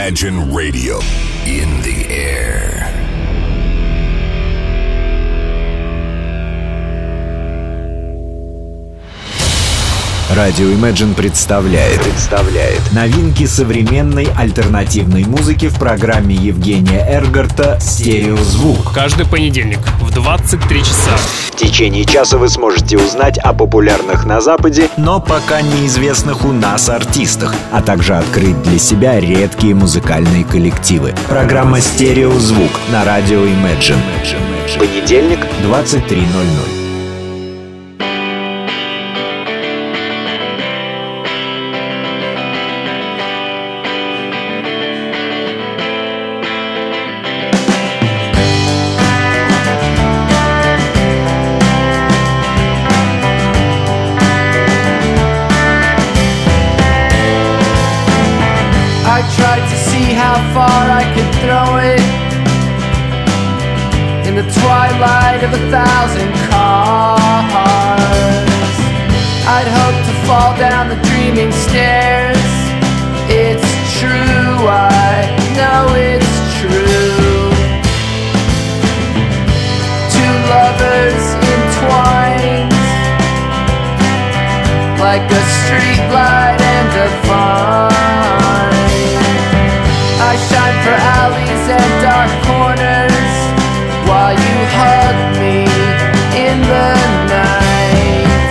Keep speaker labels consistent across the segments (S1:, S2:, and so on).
S1: Imagine Radio in the air.
S2: Радио Imagine представляет новинки современной альтернативной музыки в программе Евгения Эргарта «Стереозвук».
S3: Каждый понедельник в 23 часа.
S2: В течение часа вы сможете узнать о популярных на Западе, но пока неизвестных у нас артистах, а также открыть для себя редкие музыкальные коллективы. Программа «Стереозвук» на радио Imagine. Понедельник, 23:00.
S4: Twilight of 1,000 cars, I'd hope to fall down the dreaming stairs. It's true, I know it's true. Two lovers entwined like a street light and a vine. I shine for alleys and dark corners while you hug me in the night.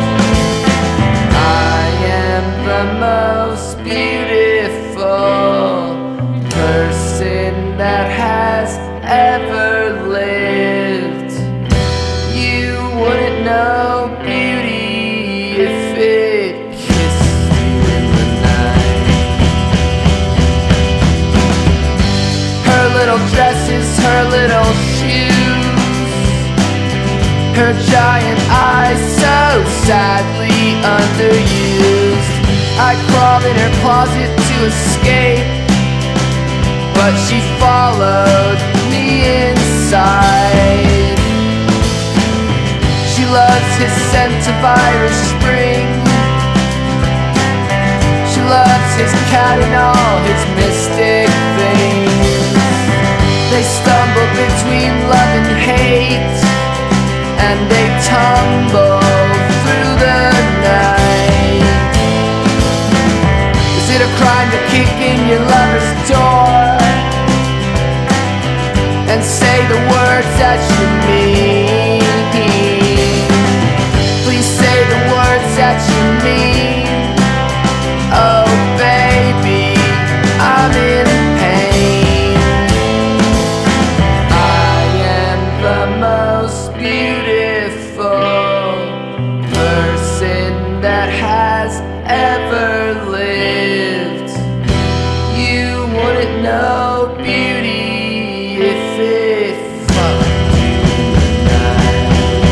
S4: I am the most beautiful person that has ever lived. You wouldn't know beauty if it kissed you in the night. Her little dresses, her little her giant eyes so sadly underused. I crawled in her closet to escape, but she followed me inside. She loves his scent of Irish spring. She loves his cat and all his mystic things. They stumble between love and hate, and they tumble through the night. Is it a crime to kick in your lover's door and say the words that you mean? Please say the words that you mean. Oh baby, I'm in pain. I am the most beautiful person that has ever lived. You wouldn't know beauty if it fucked you tonight.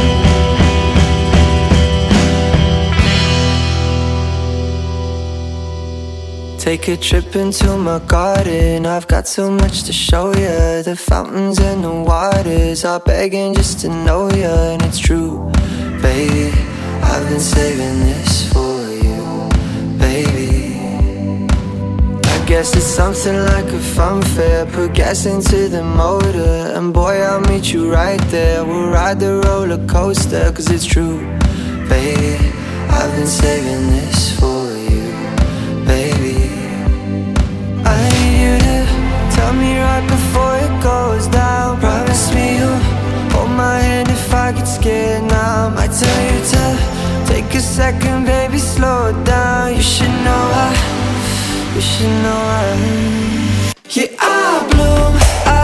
S4: Take a trip into my garden, I've got so much to show you. The fountains and the waters are begging just to know you. And it's true, baby, I've been saving this for you, baby. I guess it's something like a fun fair. Put gas into the motor, and boy, I'll meet you right there. We'll ride the roller coaster, cause it's true, baby, I've been saving this for you, baby. I need you to tell me right before it goes down. Promise me you'll hold my hand if I get scared now. I might tell you to take a second, baby, slow it down. You should know yeah, I bloom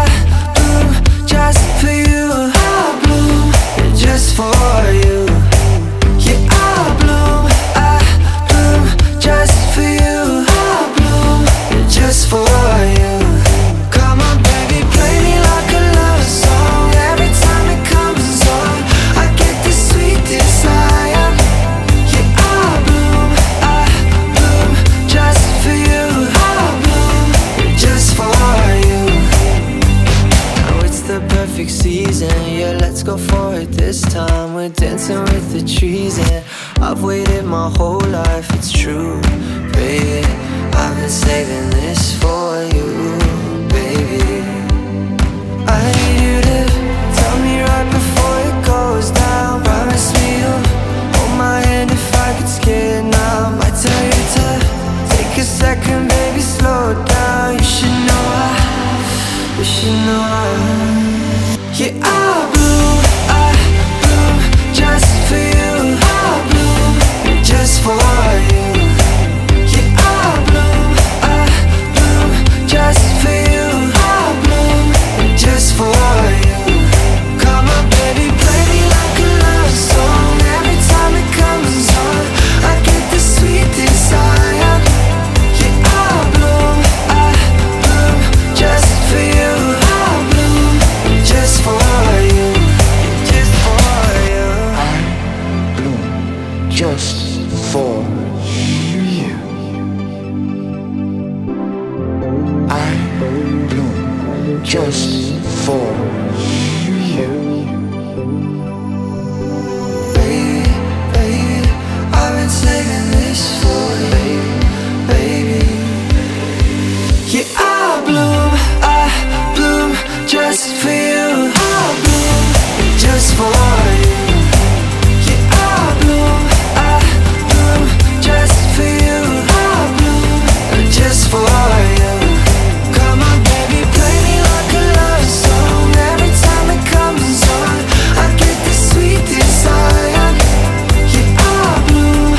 S4: just for you. I bloom just for you. Yeah, I bloom just for you. I bloom just for you. Come on, baby, play me like a love song. Every time it comes on, I get this sweet desire. Yeah, I bloom just for you. I bloom just for you. Now it's the perfect season, yeah, let's go for it this time. We're dancing with the trees, and I've waited my whole life, it's true, baby. I I've been saving this for you, baby. I need you to tell me right before it goes down. Promise me you'll hold my hand if I get scared now. Might tell you to take a second, baby, slow down. You should know you should know yeah, I bloom just for you. I bloom just for you. Yeah, I bloom just for you. I bloom just for you. Come on, baby, play me like a love song. Every time it comes on, I get the sweet desire. Yeah, I bloom just for you. I bloom just for you. Just for you.
S5: I bloom just for you. I bloom just for you.
S4: Baby, baby, I've been saving this for you, baby. Yeah, I bloom just for you. I bloom just for you. Yeah, I bloom just for you. I bloom just for you. Come on, baby, play me like a love song. Every time it comes on, I get this sweet desire. Yeah, I bloom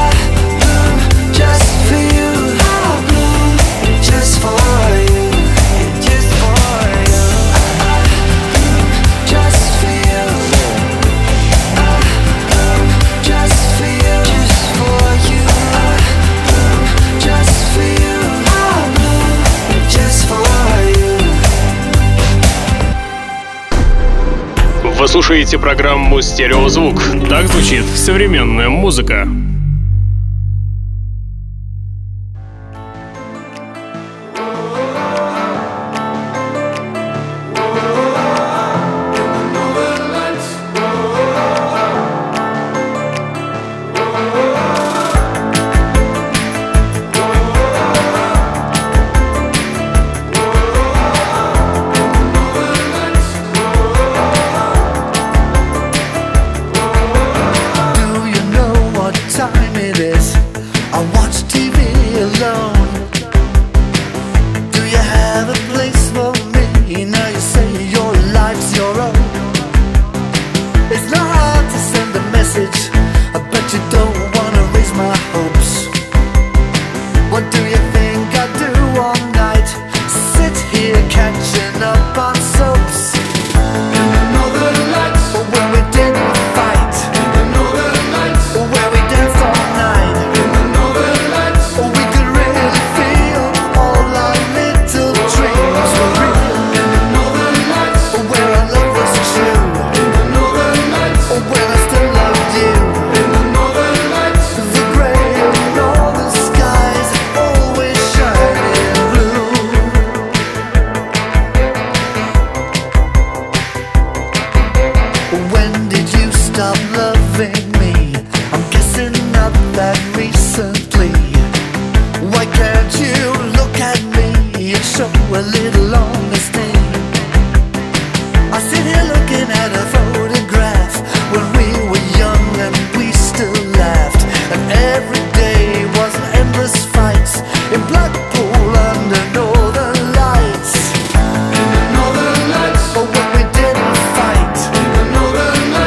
S4: just for you. I bloom just for you. Just for you. I bloom just for you. I bloom just for you. Just for you. I bloom just for you. I bloom just for you.
S3: Вы слушаете программу «Стереозвук». Так звучит современная музыка.
S5: Do you know what time it is? I watch TV alone. Do you have a place for me? Now you say your life's your own. It's not hard to send a message. I bet you don't wanna raise my hopes. What do you think I do all night? Sit here catching up on soaps. Or when we didn't fight. Or where we danced all night. Or we could really feel all our little dreams were real. Or where our love was true. Or when I still loved you. The gray of northern skies always shining blue. When did you stop loving me? I'm guessing not that recently. Why can't you look at me and show a little honesty? I sit here looking at a photograph when we were young and we still laughed. And every day was an endless fight in Blackpool under northern lights. Or when we didn't fight.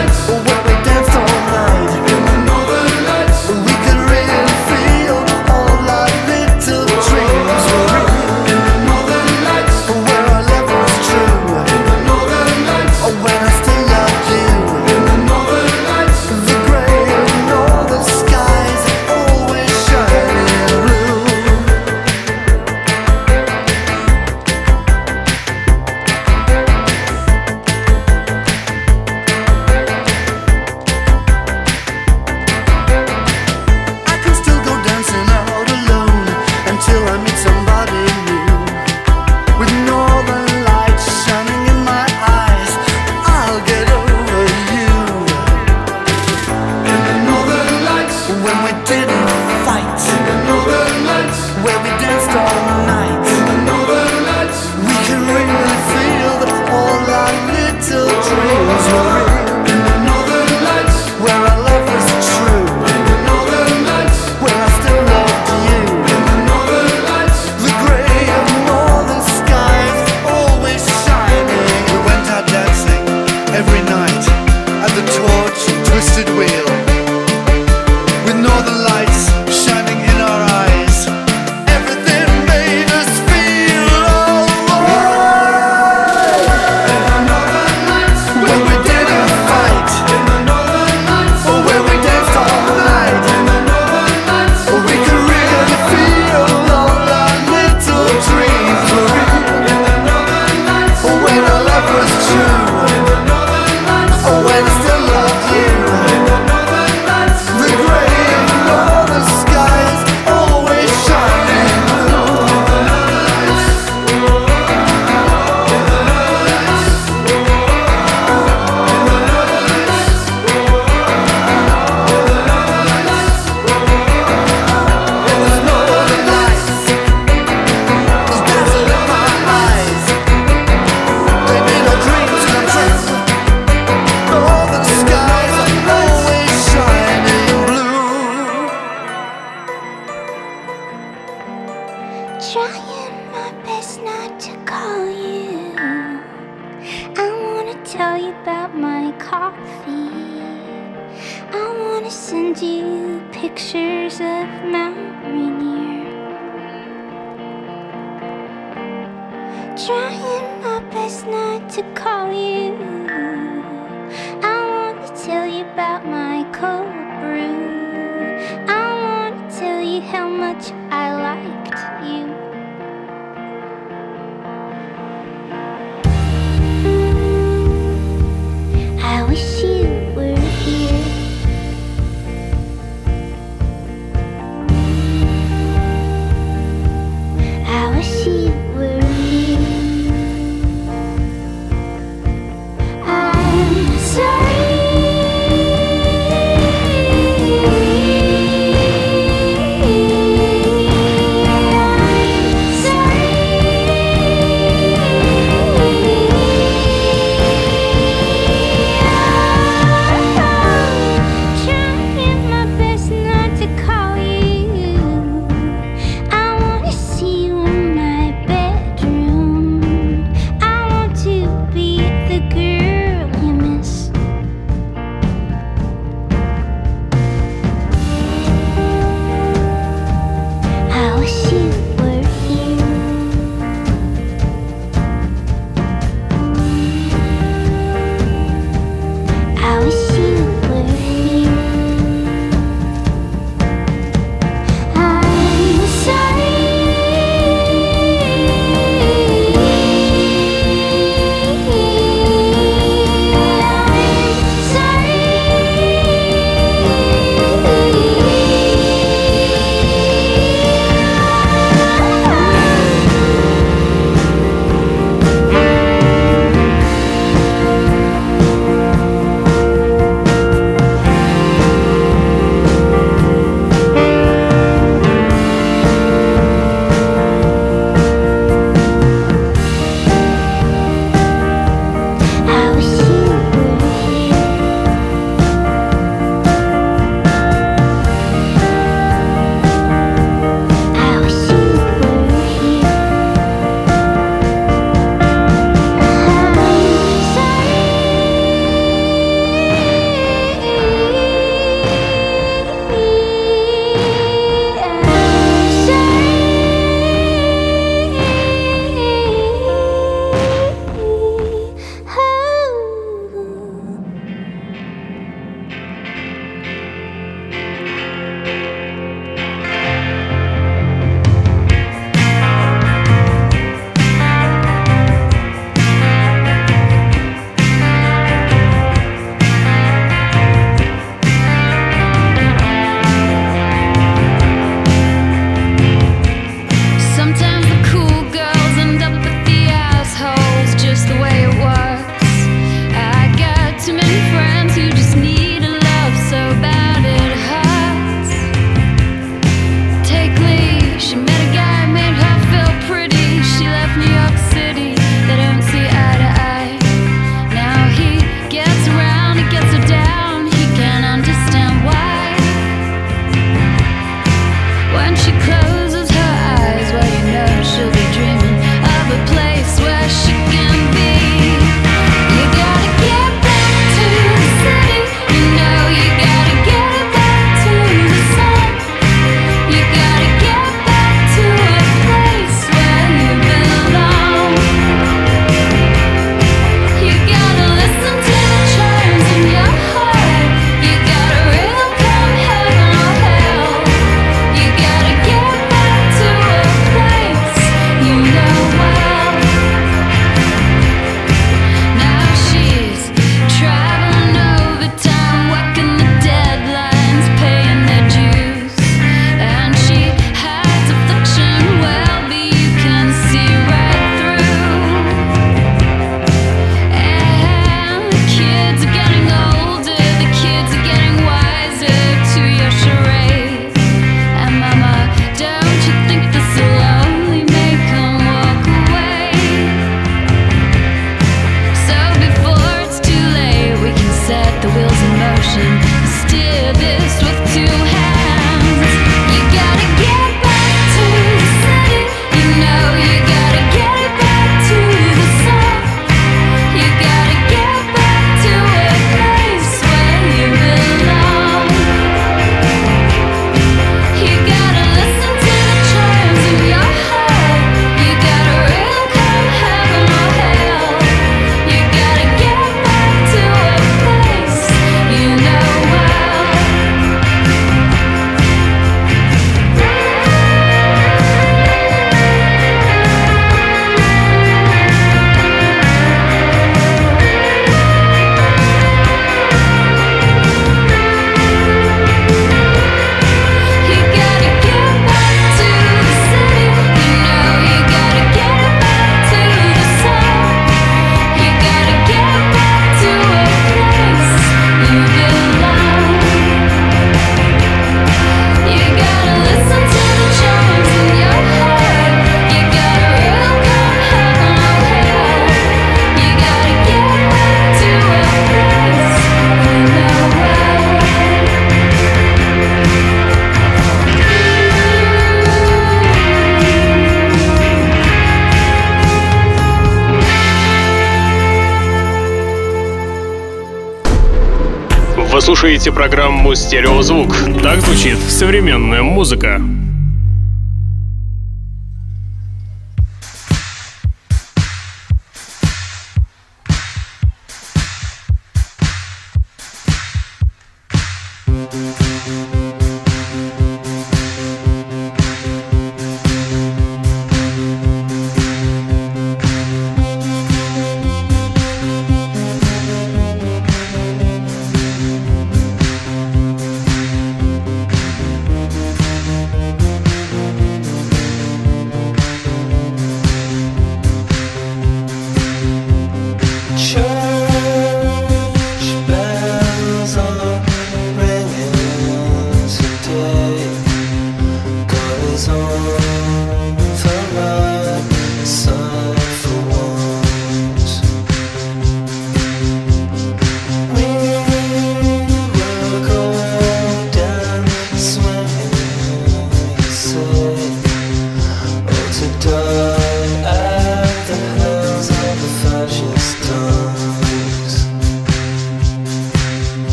S5: starry night at the torch and twisted wheel, with northern lights shining in our eyes. Everything made us feel alright. In the northern lights, when we didn't fight, in the northern lights, or when we danced all night, in the northern lights, we could really feel all our little dreams were real. In the northern lights, when our love was true, in the northern lights, when I still loved you, in the northern lights, the gray and northern skies always shining blue. In the northern lights, in the northern lights, in the northern lights, in the northern lights, those dazzle in my eyes, they made our dreams come true. Northern skies are always shining blue.
S6: Trying my best not to call you. I wanna tell you about my coffee. I wanna send you pictures of Mount Rainier. Trying my best not to call you. I wanna tell you about my cold brew. I wanna tell you how much I liked you. I wish you were here. I wish you were here. I'm sorry.
S7: the wheels in motion. Steer this with two hands. You gotta get back to the city. You know you gotta get back to the sun. You gotta get back to a place where you belong. You gotta listen to the chimes in your heart. You gotta really come heaven or hell. You gotta get back to a place you know well. You gotta get back to the city. You know you gotta get back to the sun. You gotta get back to a place you belong. You gotta listen to the chimes in your heart. You gotta really come heaven or hell. You gotta get back to a place you know well.
S3: Вы слушаете программу «Стереозвук». Так звучит современная музыка.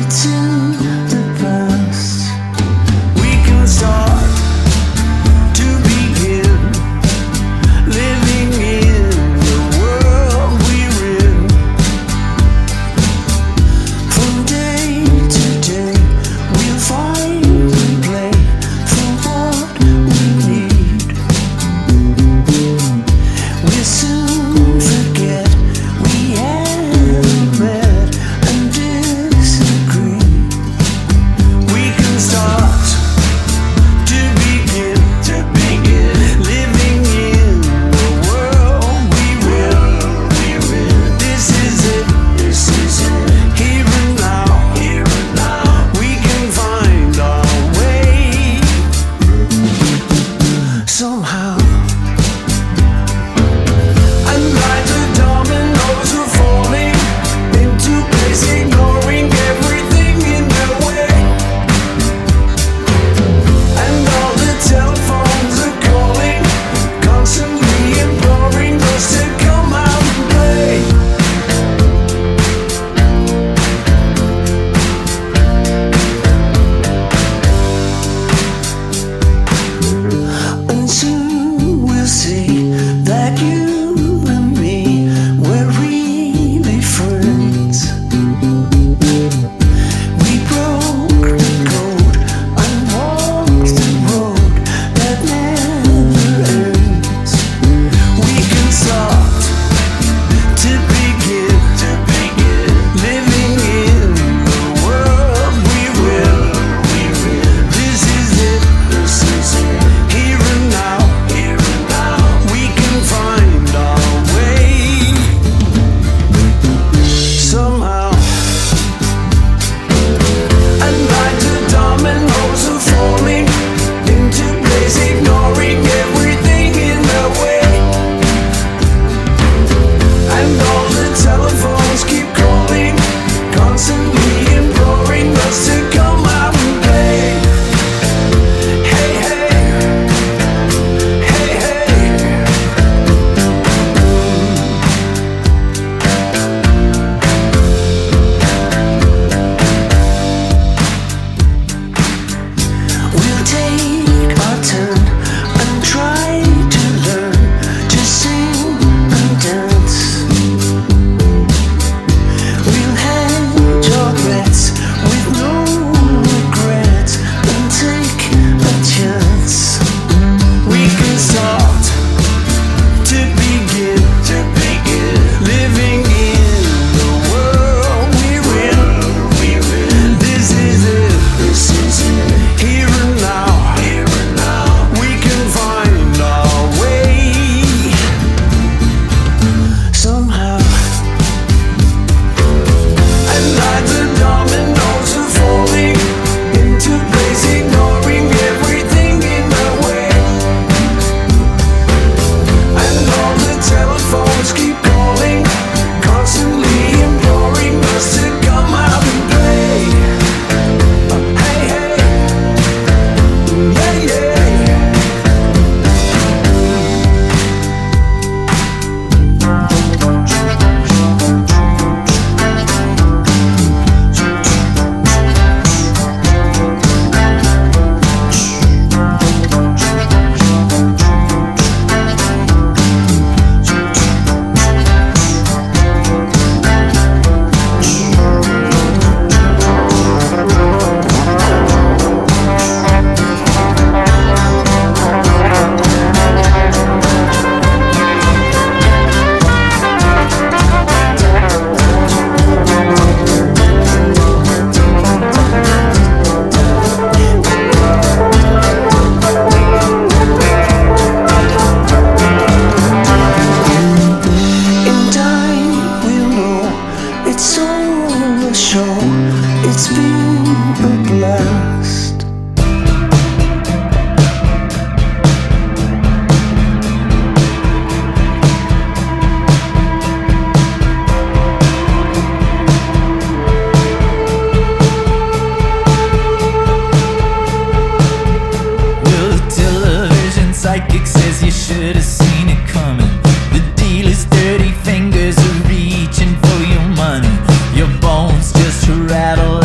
S8: rattle like a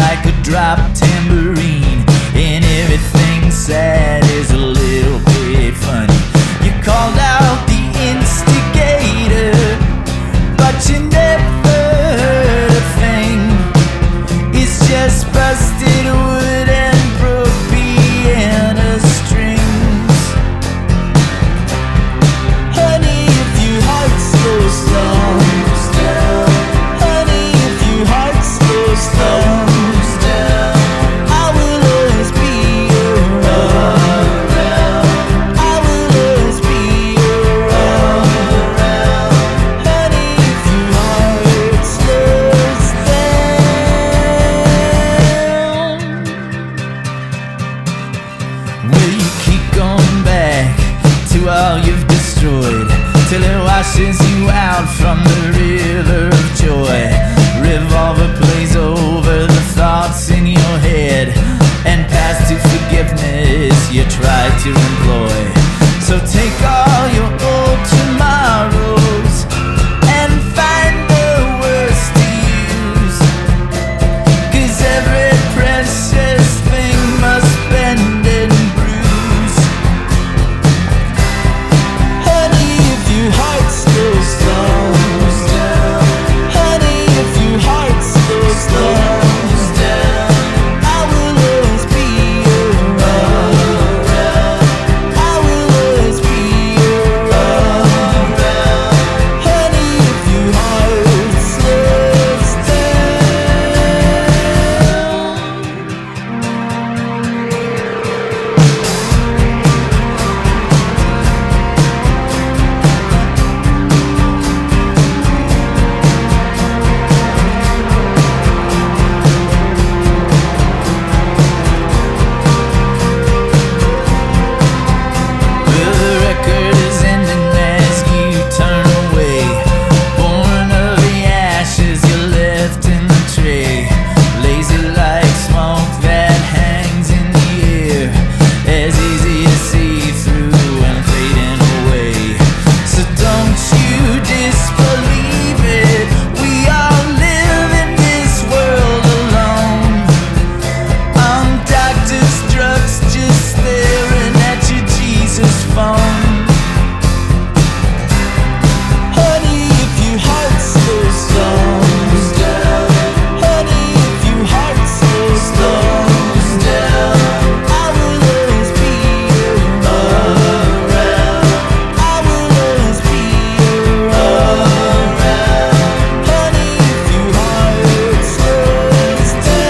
S8: drop tambourine, and everything sad is a little bit funny. You called out the instigator, but you never heard a thing. It's just busted wood and broke piano strings. Honey, if your heart slows down, honey, if your heart slows down, I will always be around. I will always be around. Honey, if your heart slows down. Will you keep going back to all you've destroyed, till it washes you out from the river of joy? Revolver plays over the thoughts in your head, and path to forgiveness you try to employ. So take all your old tomorrows and find the worst to use, 'cause every precious thing must bend and bruise. Honey, if your heart slows down, honey, if your heart slows down, I will always be around. I will always be around. Honey, if your heart slows Well, the record is ending as you turn away. Born of the ashes you left in the tray, lazy like smoke that hangs in the air, as easy to see through and fading away. So don't you disbelieve it, we all live in this world alone. On doctor's drugs, just staring at your Jesus phone. Honey, if your heart slows down, honey, if your heart slows down, I will always be around. I will always be around. Honey, if your heart slows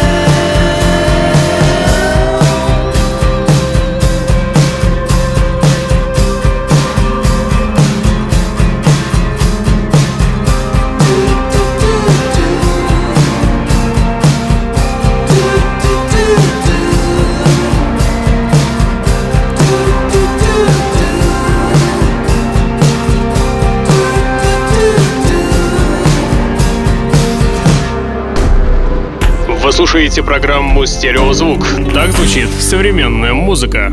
S3: Вы слушаете программу «Стереозвук». Так звучит современная музыка.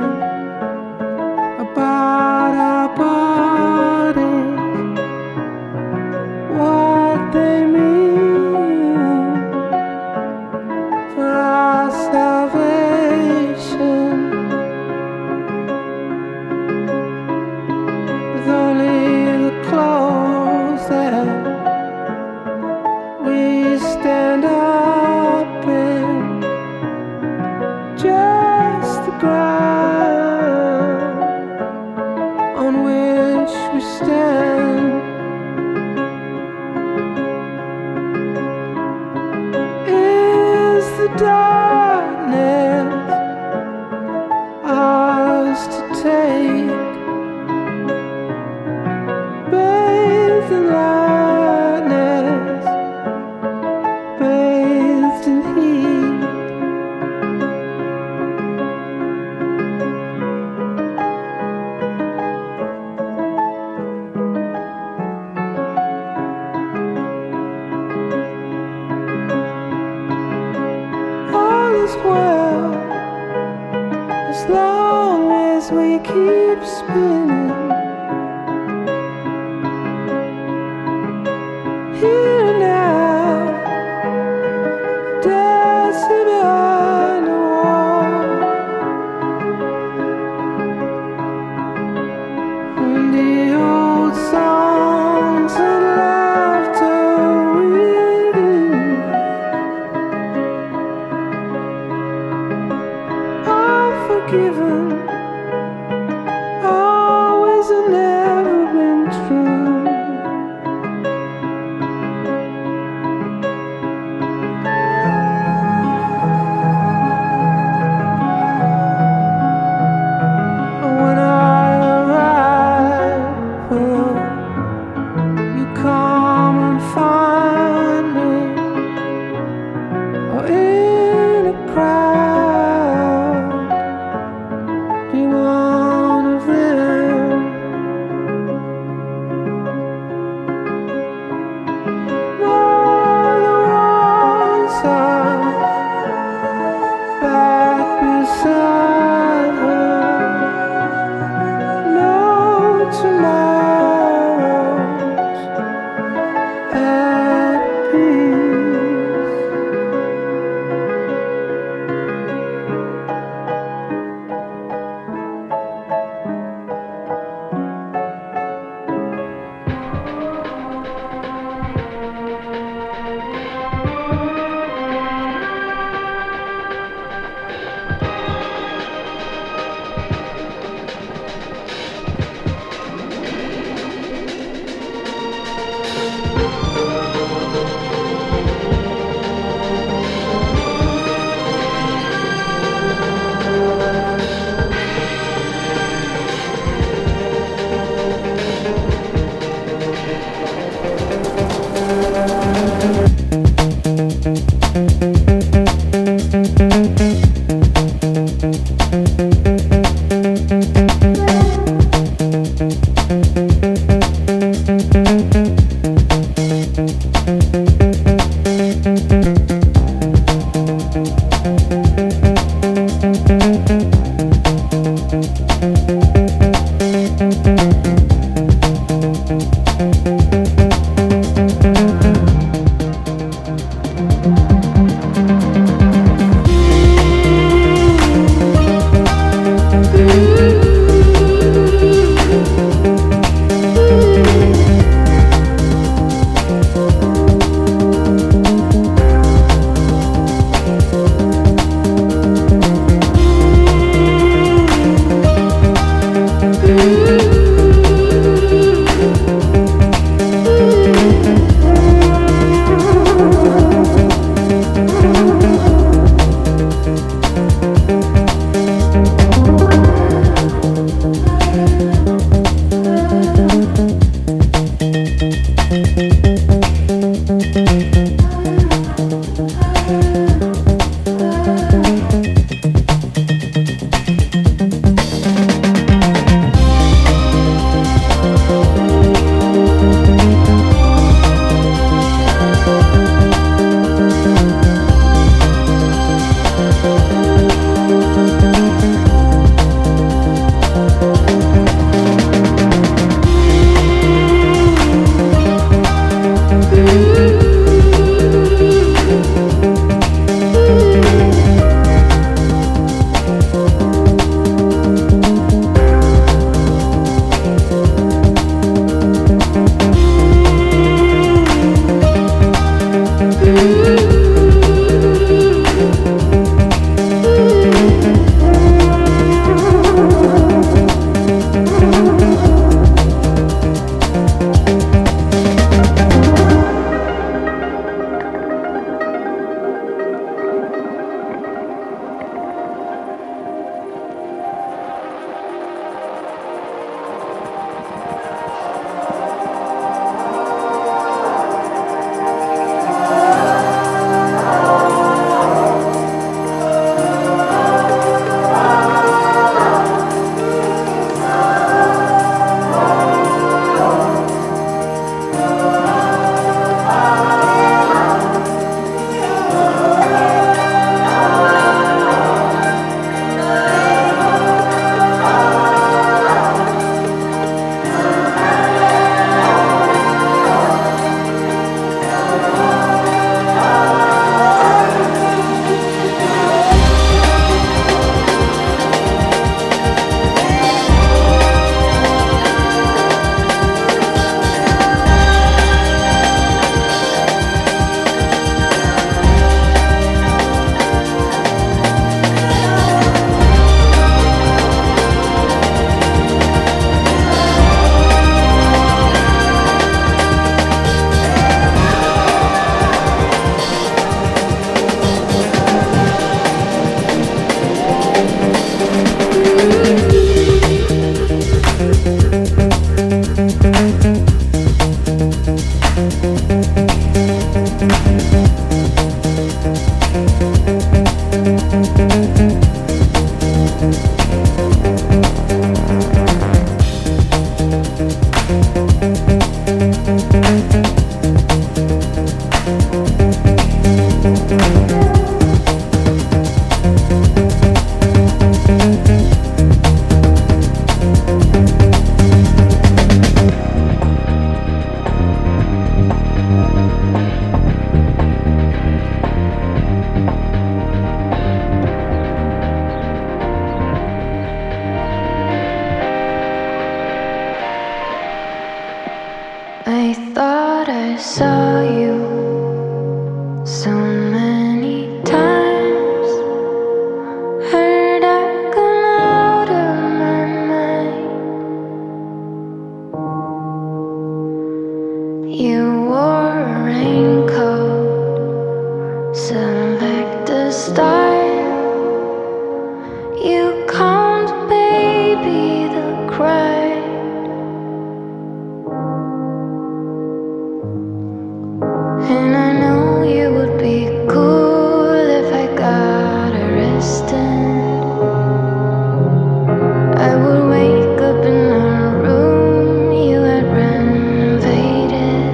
S9: about our bodies, what they mean for our salvation. With only the clothes that we stand up in, just the ground on which we stand. Is the darkness ours to take? Bathed in lightness, bathed in heat. All is well as long as we keep spinning. Here now, dancing behind the wall. When the old songs and laughter within, I'm forgiven, always and never been true. When I arrive, will you come and find me? Or in a crowd, be one of them? No, the ones are back beside her. No tomorrows at peace.
S6: saw you so many times, heard I gone out of my mind. You wore a raincoat, select the style. You calmed baby the cry. And I know you would be cool if I got arrested. I would wake up in a room you had renovated.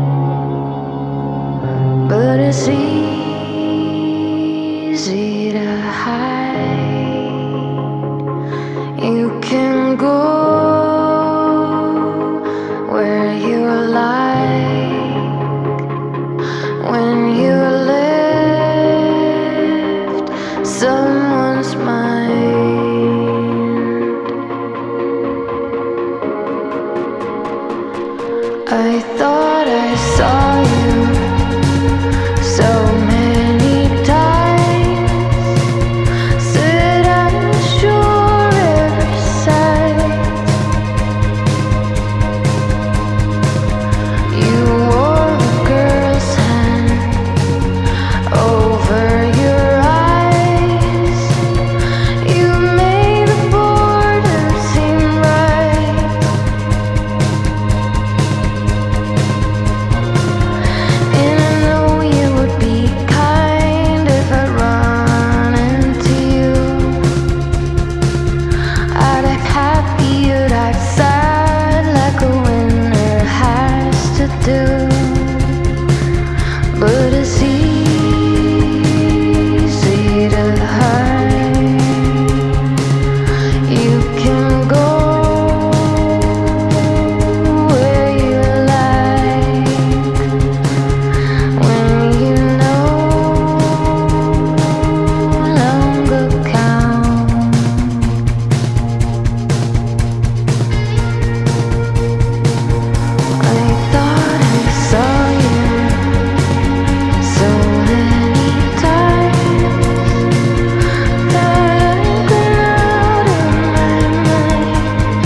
S6: But it's easy to hide. You can go where you like when you lift someone's mind. I thought I saw you so many times, said I'm sure every sight. You wore a girl's hand over your eyes. You made the boredom seem right. And I know you would be kind if I run into you. I'd act happy, you'd act sad like a winner has to do. But it's easy to hide. You can go where you like when you no longer count. I thought I saw you so many times that I've gone out of my mind.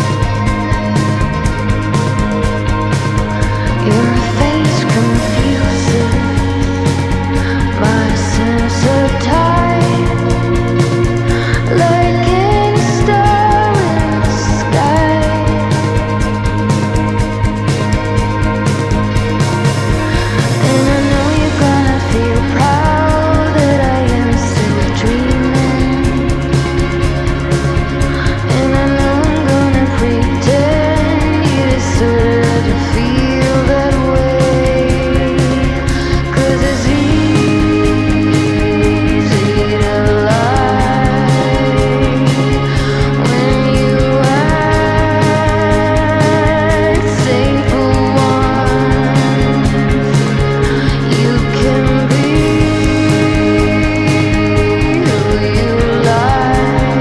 S6: Your face confuses my sense of time, like any star in the sky. And I know you're gonna feel proud that I am still dreaming. And I know I'm gonna pretend you deserve to feel that way. 'Cause it's easy to lie when you act safe for once. You can be who you like.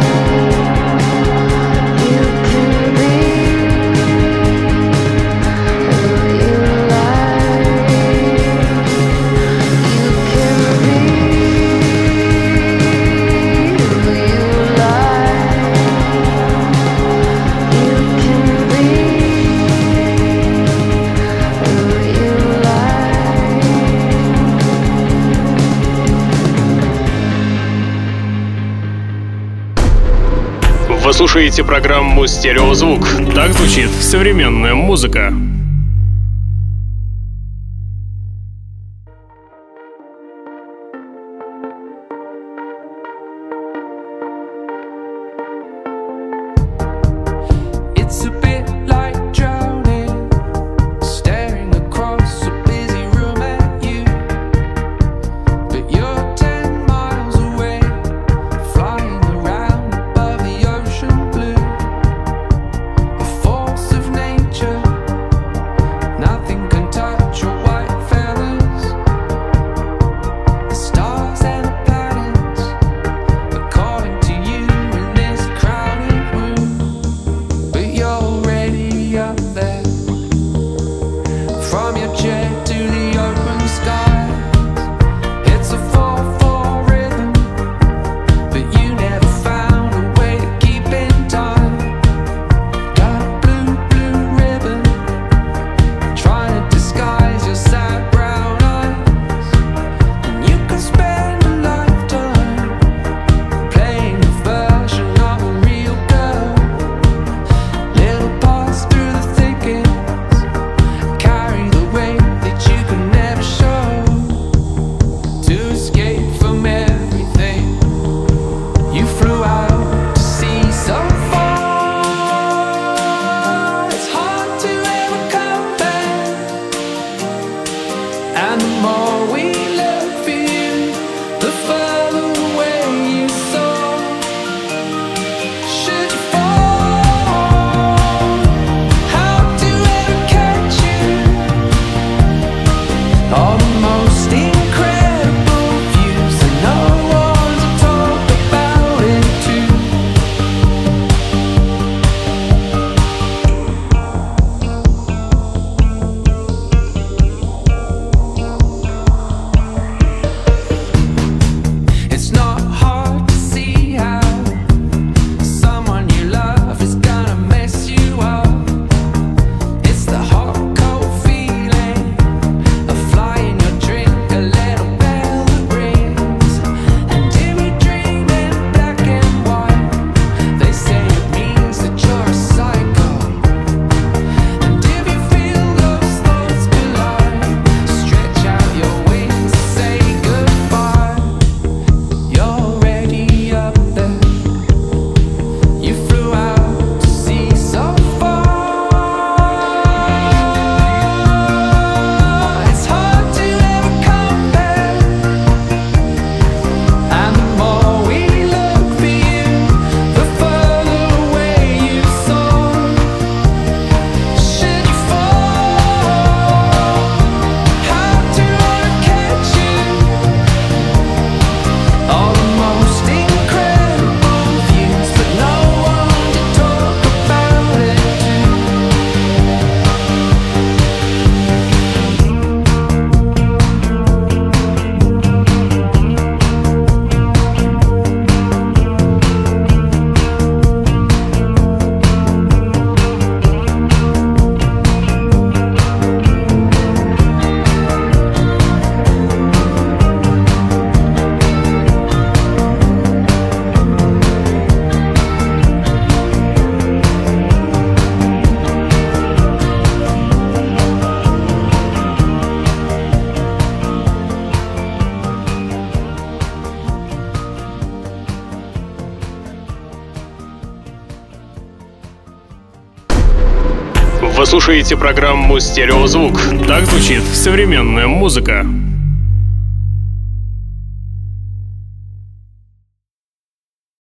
S6: You can be who you like. You can be who you like. You can be who you like.
S3: Вы слушаете программу «Стереозвук». Так звучит современная музыка.
S10: It's a bit like drowning, staring across a busy room at you. But you're 10 miles away, flying around above the ocean blue. A force of nature
S3: Вы слушаете программу «Стереозвук». Так звучит современная музыка.